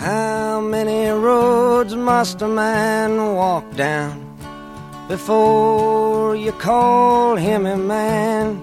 How many roads must a man walk down before you call him a man?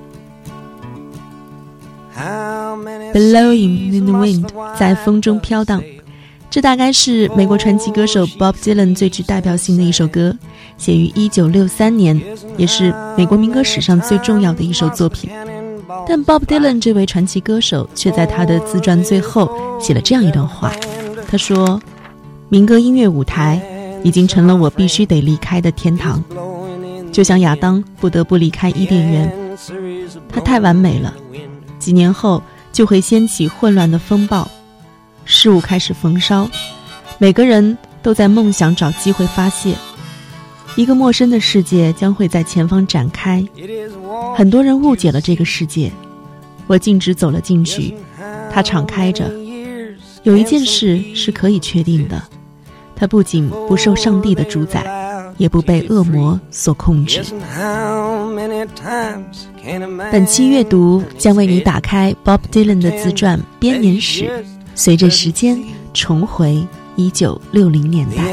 Blowing in the wind 在风中飘荡，这大概是美国传奇歌手 Bob Dylan 最具代表性的一首歌，写于1963年，也是美国民歌史上最重要的一首作品。但 Bob Dylan 这位传奇歌手却在他的自传最后写了这样一段话，他说，民歌音乐舞台已经成了我必须得离开的天堂，就像亚当不得不离开伊甸园，它太完美了，几年后就会掀起混乱的风暴，事物开始焚烧，每个人都在梦想找机会发泄，一个陌生的世界将会在前方展开，很多人误解了这个世界，我径直走了进去，它敞开着。有一件事是可以确定的，它不仅不受上帝的主宰，也不被恶魔所控制。本期阅读将为你打开 Bob Dylan 的自传编年史，随着时间重回1960年代。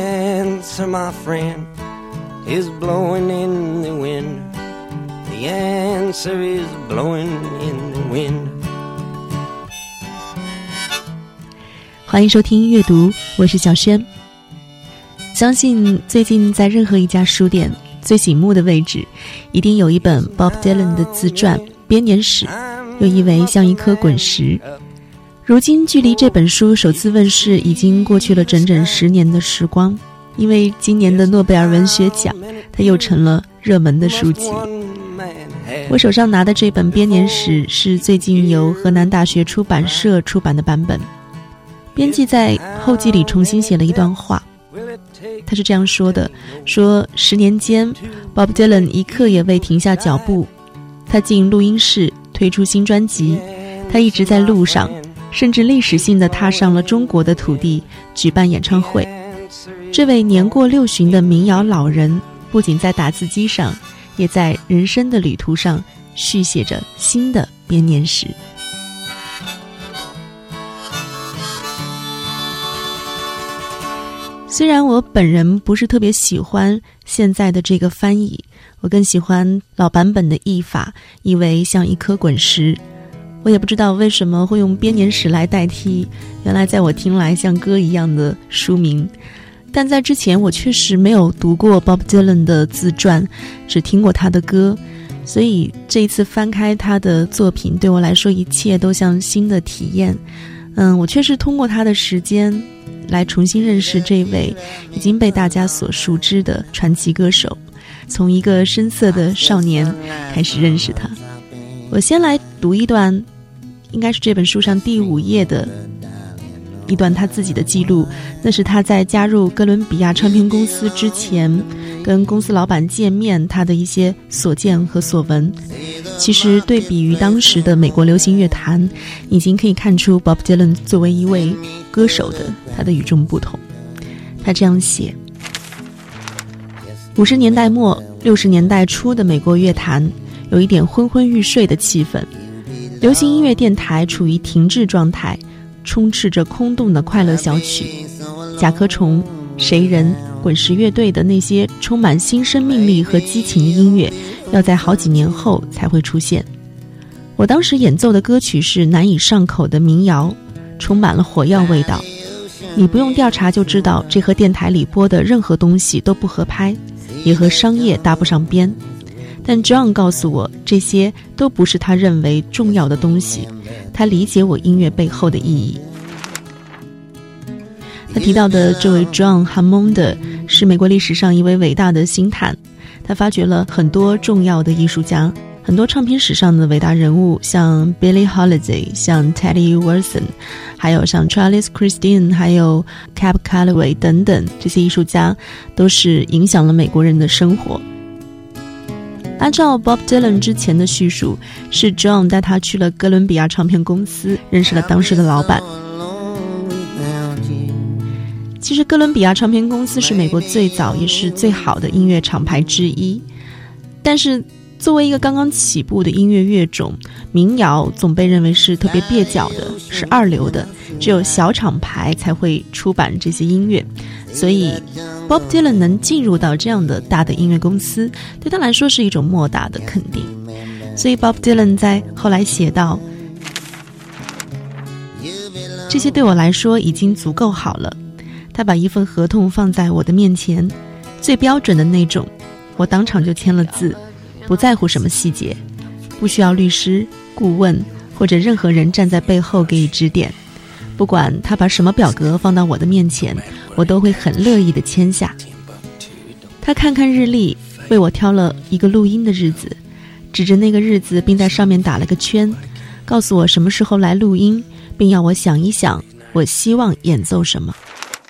欢迎收听阅读，我是小轩。相信最近在任何一家书店最醒目的位置，一定有一本 Bob Dylan 的自传编年史，又译为像一颗滚石。如今距离这本书首次问世已经过去了整整10年的时光，因为今年的诺贝尔文学奖，它又成了热门的书籍。我手上拿的这本编年史是最近由河南大学出版社出版的版本，编辑在后记里重新写了一段话，他是这样说的，说10年间 Bob Dylan 一刻也未停下脚步，他进录音室推出新专辑，他一直在路上，甚至历史性地踏上了中国的土地举办演唱会。这位年过60的民谣老人不仅在打字机上，也在人生的旅途上续写着新的编年史。虽然我本人不是特别喜欢现在的这个翻译，我更喜欢老版本的译法，译为像一颗滚石。我也不知道为什么会用编年史来代替原来在我听来像歌一样的书名，但在之前我确实没有读过 Bob Dylan 的自传，只听过他的歌，所以这一次翻开他的作品，对我来说一切都像新的体验。我确实通过他的时间来重新认识这位已经被大家所熟知的传奇歌手，从一个深色的少年开始认识他。我先来读一段，应该是这本书上第5页的一段他自己的记录，那是他在加入哥伦比亚唱片公司之前跟公司老板见面他的一些所见和所闻。其实对比于当时的美国流行乐坛，已经可以看出 Bob Dylan 作为一位歌手的他的与众不同。他这样写：50年代末60年代初的美国乐坛有一点昏昏欲睡的气氛，流行音乐电台处于停滞状态，充斥着空洞的快乐小曲，甲壳虫、谁人、滚石乐队的那些充满新生命力和激情的音乐要在好几年后才会出现。我当时演奏的歌曲是难以上口的民谣，充满了火药味道，你不用调查就知道这和电台里播的任何东西都不合拍，也和商业搭不上边。但 John 告诉我，这些都不是他认为重要的东西，他理解我音乐背后的意义。他提到的这位 John Hammond 是美国历史上一位伟大的星探，他发掘了很多重要的艺术家，很多唱片史上的伟大人物，像 Billie Holiday， 像 Teddy Wilson， 还有像 Charles Christine， 还有 Cab Calloway 等等，这些艺术家都是影响了美国人的生活。按照 Bob Dylan 之前的叙述，是 John 带他去了哥伦比亚唱片公司，认识了当时的老板。其实哥伦比亚唱片公司是美国最早也是最好的音乐厂牌之一，但是作为一个刚刚起步的音乐乐种，民谣总被认为是特别蹩脚的，是二流的， 只有小厂牌才会出版这些音乐，所以 Bob Dylan 能进入到这样的大的音乐公司，对他来说是一种莫大的肯定。所以 Bob Dylan 在后来写道，这些对我来说已经足够好了。他把一份合同放在我的面前，最标准的那种，我当场就签了字，不在乎什么细节，不需要律师、顾问或者任何人站在背后给予指点。不管他把什么表格放到我的面前，我都会很乐意地签下。他看看日历，为我挑了一个录音的日子，指着那个日子并在上面打了个圈，告诉我什么时候来录音，并要我想一想我希望演奏什么。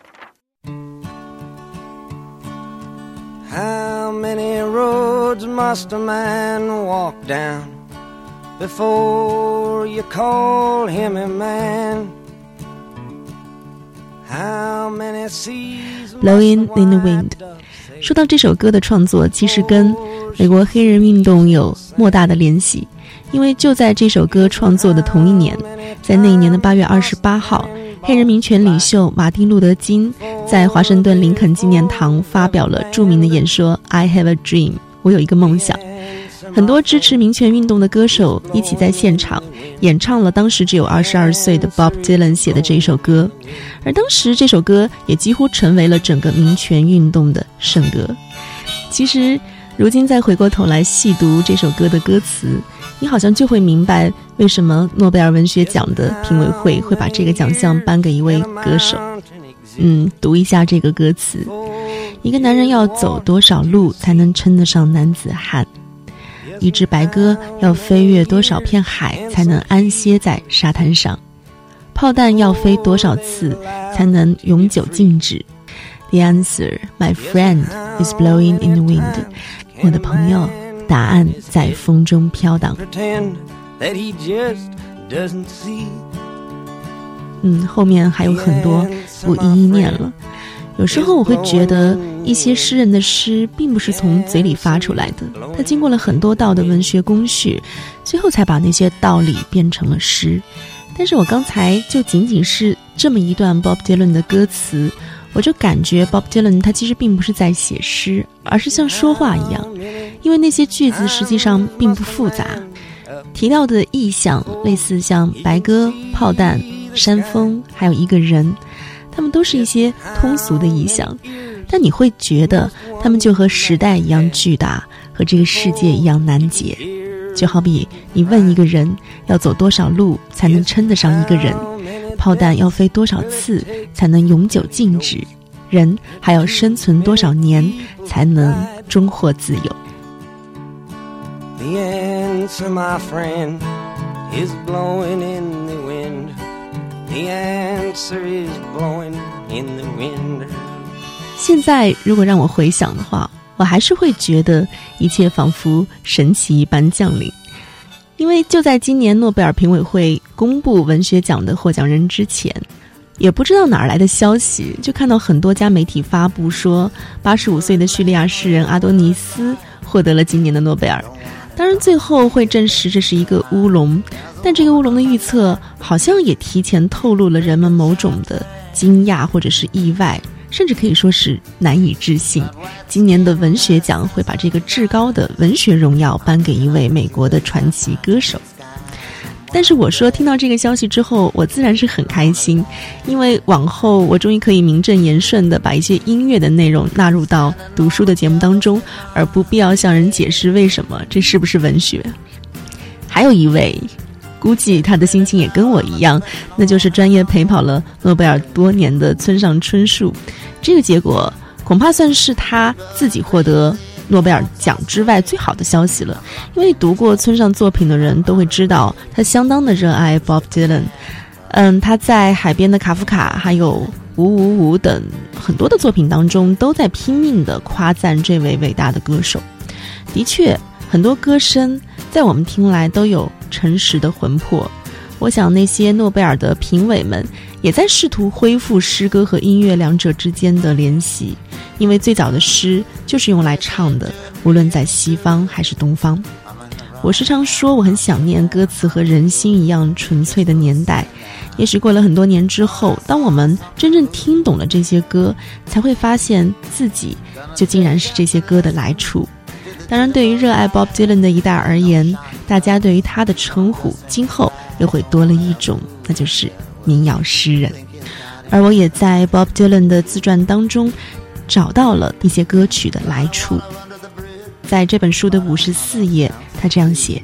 How many roads must a man walk down before you call him a man? How many seas Blowing in the Wind。 说到这首歌的创作，其实跟美国黑人运动有莫大的联系，因为就在这首歌创作的同一年，在那一年的8月28号，黑人民权领袖马丁·路德·金在华盛顿林肯纪念堂发表了著名的演说 I have a dream， 我有一个梦想。很多支持民权运动的歌手一起在现场演唱了当时只有22岁的 Bob Dylan 写的这一首歌，而当时这首歌也几乎成为了整个民权运动的圣歌。其实如今再回过头来细读这首歌的歌词，你好像就会明白为什么诺贝尔文学奖的评委会会把这个奖项颁给一位歌手。读一下这个歌词：一个男人要走多少路才能称得上男子汉？一只白鸽要飞越多少片海才能安歇在沙滩上？炮弹要飞多少次才能永久静止？ The answer, my friend, is blowing in the wind。 我的朋友，答案在风中飘荡。后面还有很多不一一念了。有时候我会觉得一些诗人的诗并不是从嘴里发出来的，他经过了很多道的文学工序，最后才把那些道理变成了诗。但是我刚才就仅仅是这么一段 Bob Dylan 的歌词，我就感觉 Bob Dylan 他其实并不是在写诗，而是像说话一样，因为那些句子实际上并不复杂，提到的意象类似像白鸽、炮弹、山峰还有一个人，他们都是一些通俗的意象，但你会觉得他们就和时代一样巨大，和这个世界一样难解。就好比你问一个人要走多少路才能称得上一个人，炮弹要飞多少次才能永久静止，人还要生存多少年才能终获自由。 The answer, my friend, is blowing in the wind. The answer is blowing in the wind. 现在如果让我回想的话，我还是会觉得一切仿佛神奇一般降临。因为就在今年诺贝尔评委会公布文学奖的获奖人之前，也不知道哪儿来的消息，就看到很多家媒体发布说85岁的叙利亚诗人阿多尼斯获得了今年的诺贝尔。当然最后会证实这是一个乌龙，但这个乌龙的预测好像也提前透露了人们某种的惊讶或者是意外，甚至可以说是难以置信。今年的文学奖会把这个至高的文学荣耀颁给一位美国的传奇歌手。但是我说听到这个消息之后，我自然是很开心，因为往后我终于可以名正言顺地把一些音乐的内容纳入到读书的节目当中，而不必要向人解释为什么这是不是文学。还有一位估计他的心情也跟我一样，那就是专业陪跑了诺贝尔多年的村上春树。这个结果恐怕算是他自己获得诺贝尔奖之外最好的消息了，因为读过村上作品的人都会知道他相当的热爱 Bob Dylan。他在海边的卡夫卡还有555等很多的作品当中都在拼命地夸赞这位伟大的歌手。的确很多歌声在我们听来都有诚实的魂魄，我想那些诺贝尔的评委们也在试图恢复诗歌和音乐两者之间的联系，因为最早的诗就是用来唱的，无论在西方还是东方。 我时常说我很想念歌词和人心一样纯粹的年代。也许过了很多年之后，当我们真正听懂了这些歌，才会发现自己就竟然是这些歌的来处。当然，对于热爱 Bob Dylan 的一代而言，大家对于他的称呼今后又会多了一种，那就是民谣诗人。而我也在 Bob Dylan 的自传当中找到了一些歌曲的来处。在这本书的54页，他这样写：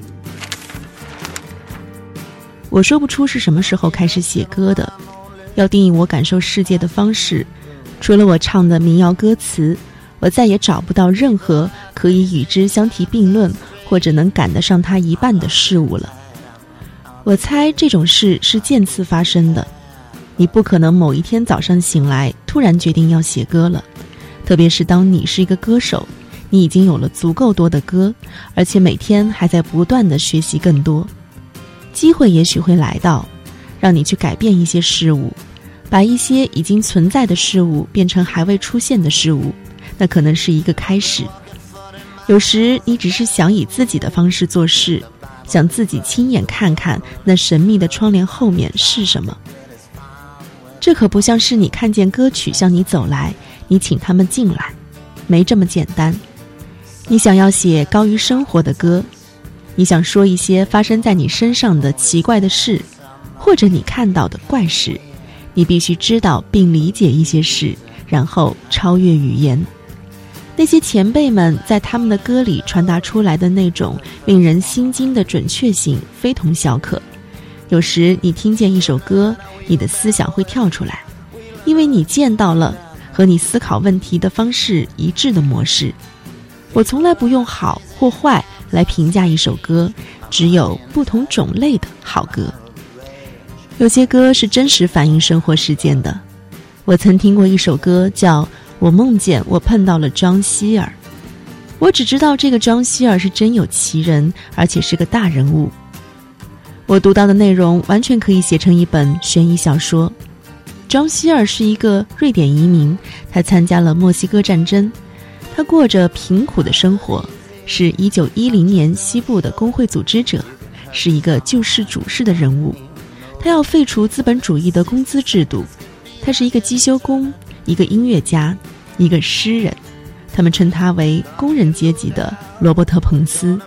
我说不出是什么时候开始写歌的，要定义我感受世界的方式，除了我唱的民谣歌词，我再也找不到任何可以与之相提并论或者能赶得上它一半的事物了。我猜这种事是渐次发生的，你不可能某一天早上醒来突然决定要写歌了，特别是当你是一个歌手，你已经有了足够多的歌，而且每天还在不断地学习更多。机会也许会来到，让你去改变一些事物，把一些已经存在的事物变成还未出现的事物，那可能是一个开始。有时你只是想以自己的方式做事，想自己亲眼看看那神秘的窗帘后面是什么。这可不像是你看见歌曲向你走来，你请他们进来，没这么简单。你想要写高于生活的歌，你想说一些发生在你身上的奇怪的事，或者你看到的怪事，你必须知道并理解一些事，然后超越语言。那些前辈们在他们的歌里传达出来的那种令人心惊的准确性非同小可。有时你听见一首歌，你的思想会跳出来，因为你见到了和你思考问题的方式一致的模式。我从来不用好或坏来评价一首歌，只有不同种类的好歌。有些歌是真实反映生活事件的。我曾听过一首歌叫《我梦见我碰到了庄希尔》，我只知道这个庄希尔是真有其人，而且是个大人物。我读到的内容完全可以写成一本悬疑小说。庄希尔是一个瑞典移民，他参加了墨西哥战争，他过着贫苦的生活，是1910年西部的工会组织者，是一个救世主式的人物。他要废除资本主义的工资制度。他是一个机修工，一个音乐家，一个诗人，他们称他为工人阶级的罗伯特·彭斯。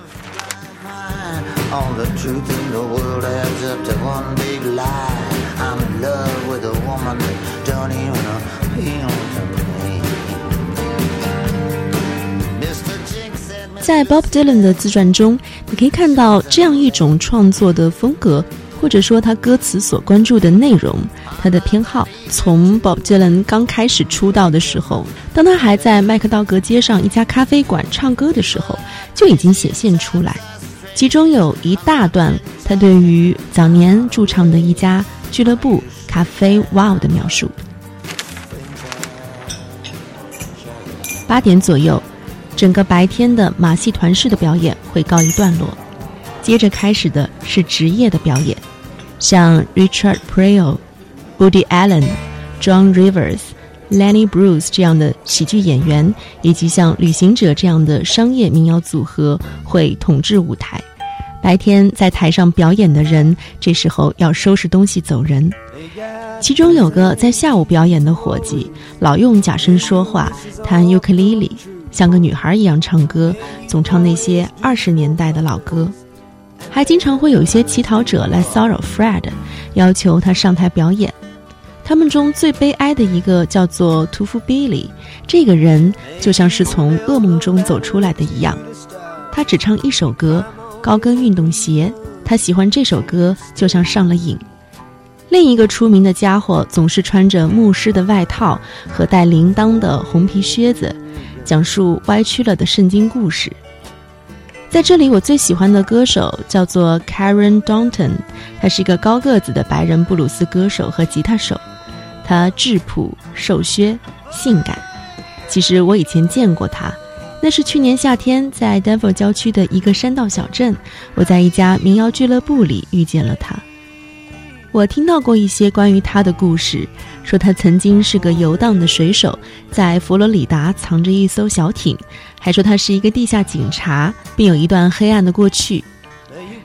在 Bob Dylan 的自传中，你可以看到这样一种创作的风格，或者说他歌词所关注的内容，他的偏好从 Bob Dylan 刚开始出道的时候，当他还在麦克道格街上一家咖啡馆唱歌的时候，就已经显现出来。其中有一大段他对于早年驻唱的一家俱乐部咖啡 Wow 的描述。8点左右，整个白天的马戏团式的表演会告一段落，接着开始的是职业的表演，像 Richard Pryor、Woody Allen、John Rivers、Lenny Bruce 这样的喜剧演员，以及像旅行者这样的商业民谣组合会统治舞台。白天在台上表演的人，这时候要收拾东西走人。其中有个在下午表演的伙计，老用假声说话，弹尤克里里，像个女孩一样唱歌，总唱那些20年代的老歌。还经常会有一些乞讨者来骚扰 Fred， 要求他上台表演。他们中最悲哀的一个叫做屠夫 Billy， 这个人就像是从噩梦中走出来的一样。他只唱一首歌，高跟运动鞋，他喜欢这首歌就像上了瘾。另一个出名的家伙总是穿着牧师的外套和带铃铛的红皮靴子，讲述歪曲了的圣经故事。在这里我最喜欢的歌手叫做 Karen Daunton， 他是一个高个子的白人布鲁斯歌手和吉他手，他质朴、瘦削、性感。其实我以前见过他，那是去年夏天在 Denver 郊区的一个山道小镇，我在一家民谣俱乐部里遇见了他。我听到过一些关于他的故事，说他曾经是个游荡的水手，在佛罗里达藏着一艘小艇，还说他是一个地下警察，并有一段黑暗的过去。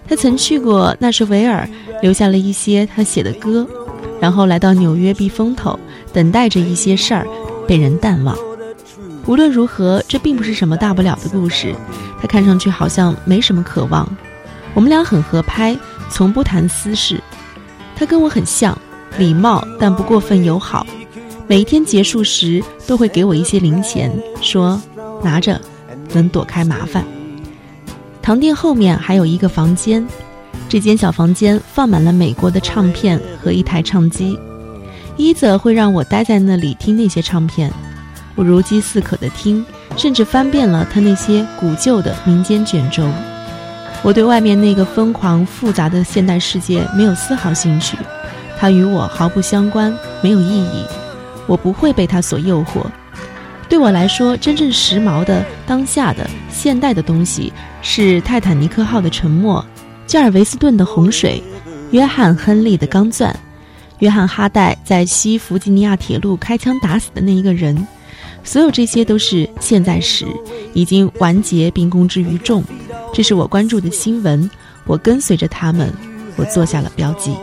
他曾去过纳什维尔，留下了一些他写的歌，然后来到纽约避风头，等待着一些事儿被人淡忘。无论如何，这并不是什么大不了的故事，他看上去好像没什么渴望。我们俩很合拍，从不谈私事。他跟我很像，礼貌但不过分友好，每一天结束时都会给我一些零钱，说拿着能躲开麻烦。堂店后面还有一个房间，这间小房间放满了美国的唱片和一台唱机。伊泽会让我待在那里听那些唱片，我如饥似渴地听，甚至翻遍了他那些古旧的民间卷轴。我对外面那个疯狂复杂的现代世界没有丝毫兴趣，它与我毫不相关，没有意义，我不会被它所诱惑。对我来说，真正时髦的、当下的、现代的东西是泰坦尼克号的沉没，加尔维斯顿的洪水，约翰·亨利的钢钻，约翰·哈代在西弗吉尼亚铁路开枪打死的那一个人。所有这些都是现在时，已经完结并公之于众。这是我关注的新闻，我跟随着他们，我做下了标记。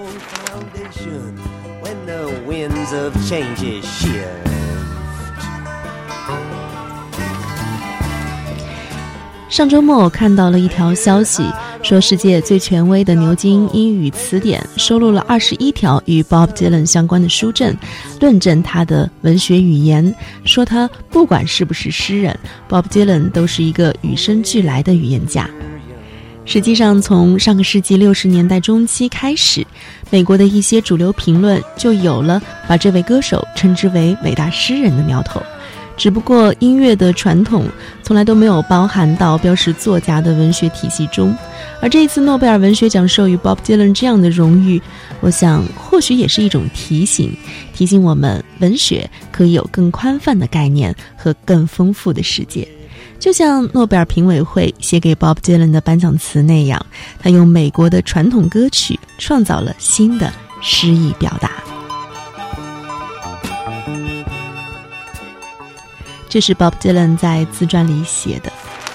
上周末我看到了一条消息，说世界最权威的牛津英语词典收录了21条与 Bob Dylan 相关的书证，论证他的文学语言，说他不管是不是诗人， Bob Dylan 都是一个与生俱来的语言家。实际上从上个世纪60年代中期开始，美国的一些主流评论就有了把这位歌手称之为伟大诗人的苗头，只不过音乐的传统从来都没有包含到标识作家的文学体系中，而这一次诺贝尔文学奖授予 Bob Dylan 这样的荣誉，我想或许也是一种提醒我们文学可以有更宽泛的概念和更丰富的世界。就像诺贝尔评委会写给 Bob Dylan 的颁奖词那样，他用美国的传统歌曲创造了新的诗意表达。这是 Bob Dylan 在自传里写的：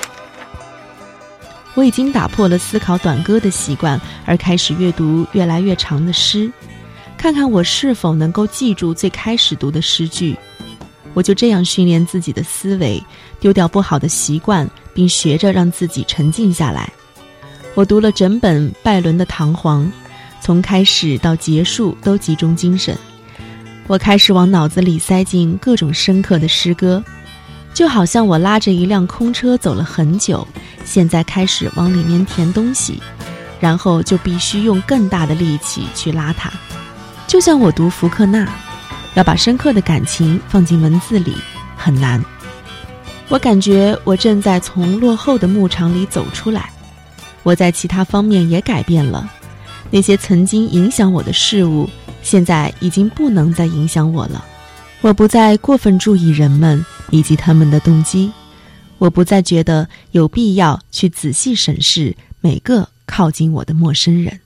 我已经打破了思考短歌的习惯，而开始阅读越来越长的诗，看看我是否能够记住最开始读的诗句。我就这样训练自己的思维，丢掉不好的习惯，并学着让自己沉静下来。我读了整本拜伦的《唐璜》，从开始到结束都集中精神。我开始往脑子里塞进各种深刻的诗歌，就好像我拉着一辆空车走了很久，现在开始往里面填东西，然后就必须用更大的力气去拉它。就像我读福克纳，要把深刻的感情放进文字里很难。我感觉我正在从落后的牧场里走出来，我在其他方面也改变了，那些曾经影响我的事物现在已经不能再影响我了。我不再过分注意人们以及他们的动机，我不再觉得有必要去仔细审视每个靠近我的陌生人。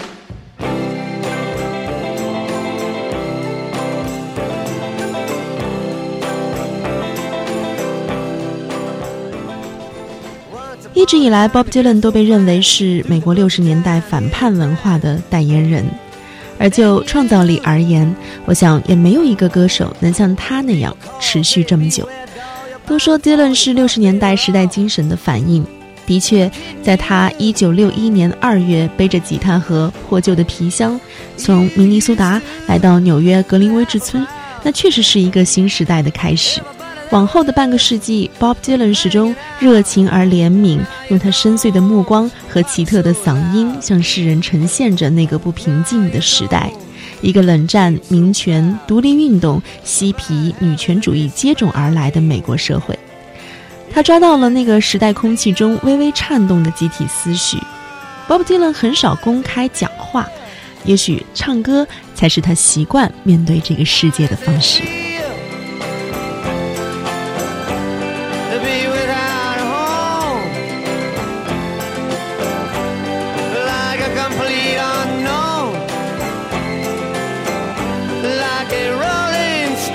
一直以来 Bob Dylan 都被认为是美国60年代反叛文化的代言人，而就创造力而言，我想也没有一个歌手能像他那样持续这么久。都说 Dylan 是60年代时代精神的反应，的确，在他1961年2月背着吉他和破旧的皮箱从明尼苏达来到纽约格林威治村，那确实是一个新时代的开始。往后的半个世纪， Bob Dylan 始终热情而怜悯，用他深邃的目光和奇特的嗓音向世人呈现着那个不平静的时代，一个冷战、民权、独立运动、嬉皮、女权主义接踵而来的美国社会。他抓到了那个时代空气中微微颤动的集体思绪。 Bob Dylan 很少公开讲话，也许唱歌才是他习惯面对这个世界的方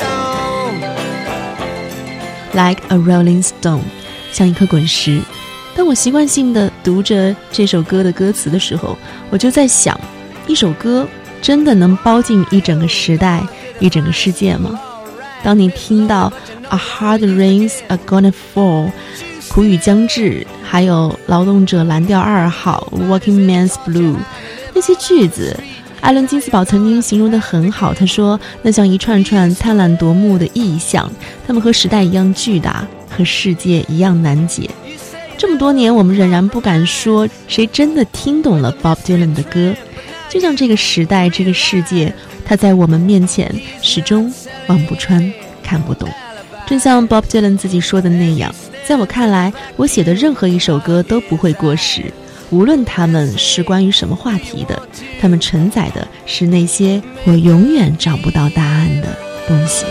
式。Like a rolling stone， 像一颗滚石。 当我习惯性地读着这首歌的歌词的时候，我就在想，一首歌真的能包进一整个时代、一整个世界吗？当你听到 A hard rains are gonna fall， 苦雨将至，还有劳动者蓝调2号 Working Man's Blue， 那些句子，艾伦金斯堡曾经形容得很好，他说那像一串串灿烂夺目的意象，它们和时代一样巨大，和世界一样难解。这么多年，我们仍然不敢说谁真的听懂了 Bob Dylan 的歌，就像这个时代，这个世界，它在我们面前始终望不穿，看不懂。正像 Bob Dylan 自己说的那样，在我看来，我写的任何一首歌都不会过时，无论他们是关于什么话题的，他们承载的是那些我永远找不到答案的东西。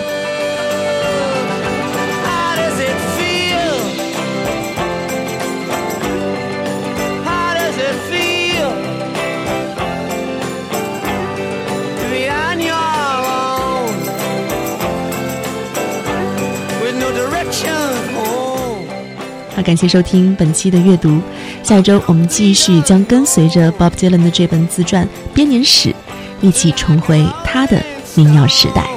好，感谢收听本期的阅读，下一周我们继续将跟随着 Bob Dylan 的这本自传《编年史》，一起重回他的民谣时代。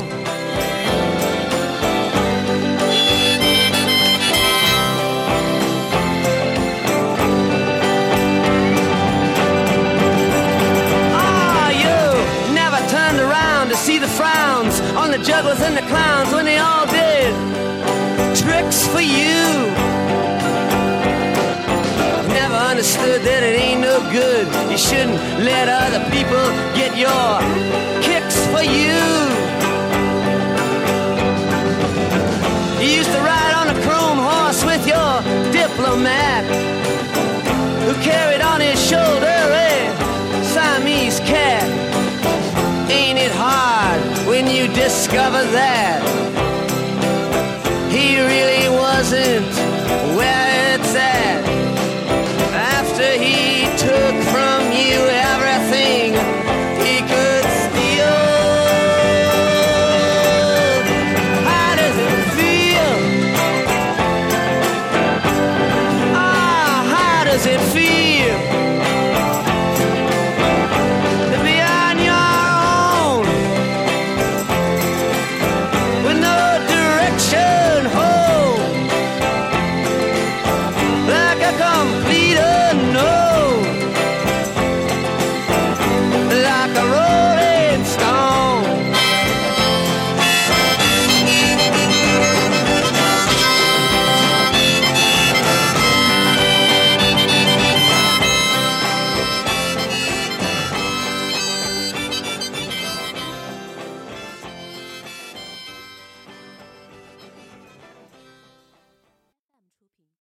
Jugglers and the clowns when they all did tricks for you. Never understood that it ain't no good. You shouldn't let other people get your kicks for you. You used to ride on a chrome horse with your diplomat, who carried on his shoulder a Siamese cat. Ain't it hard when you discover that he really wasn't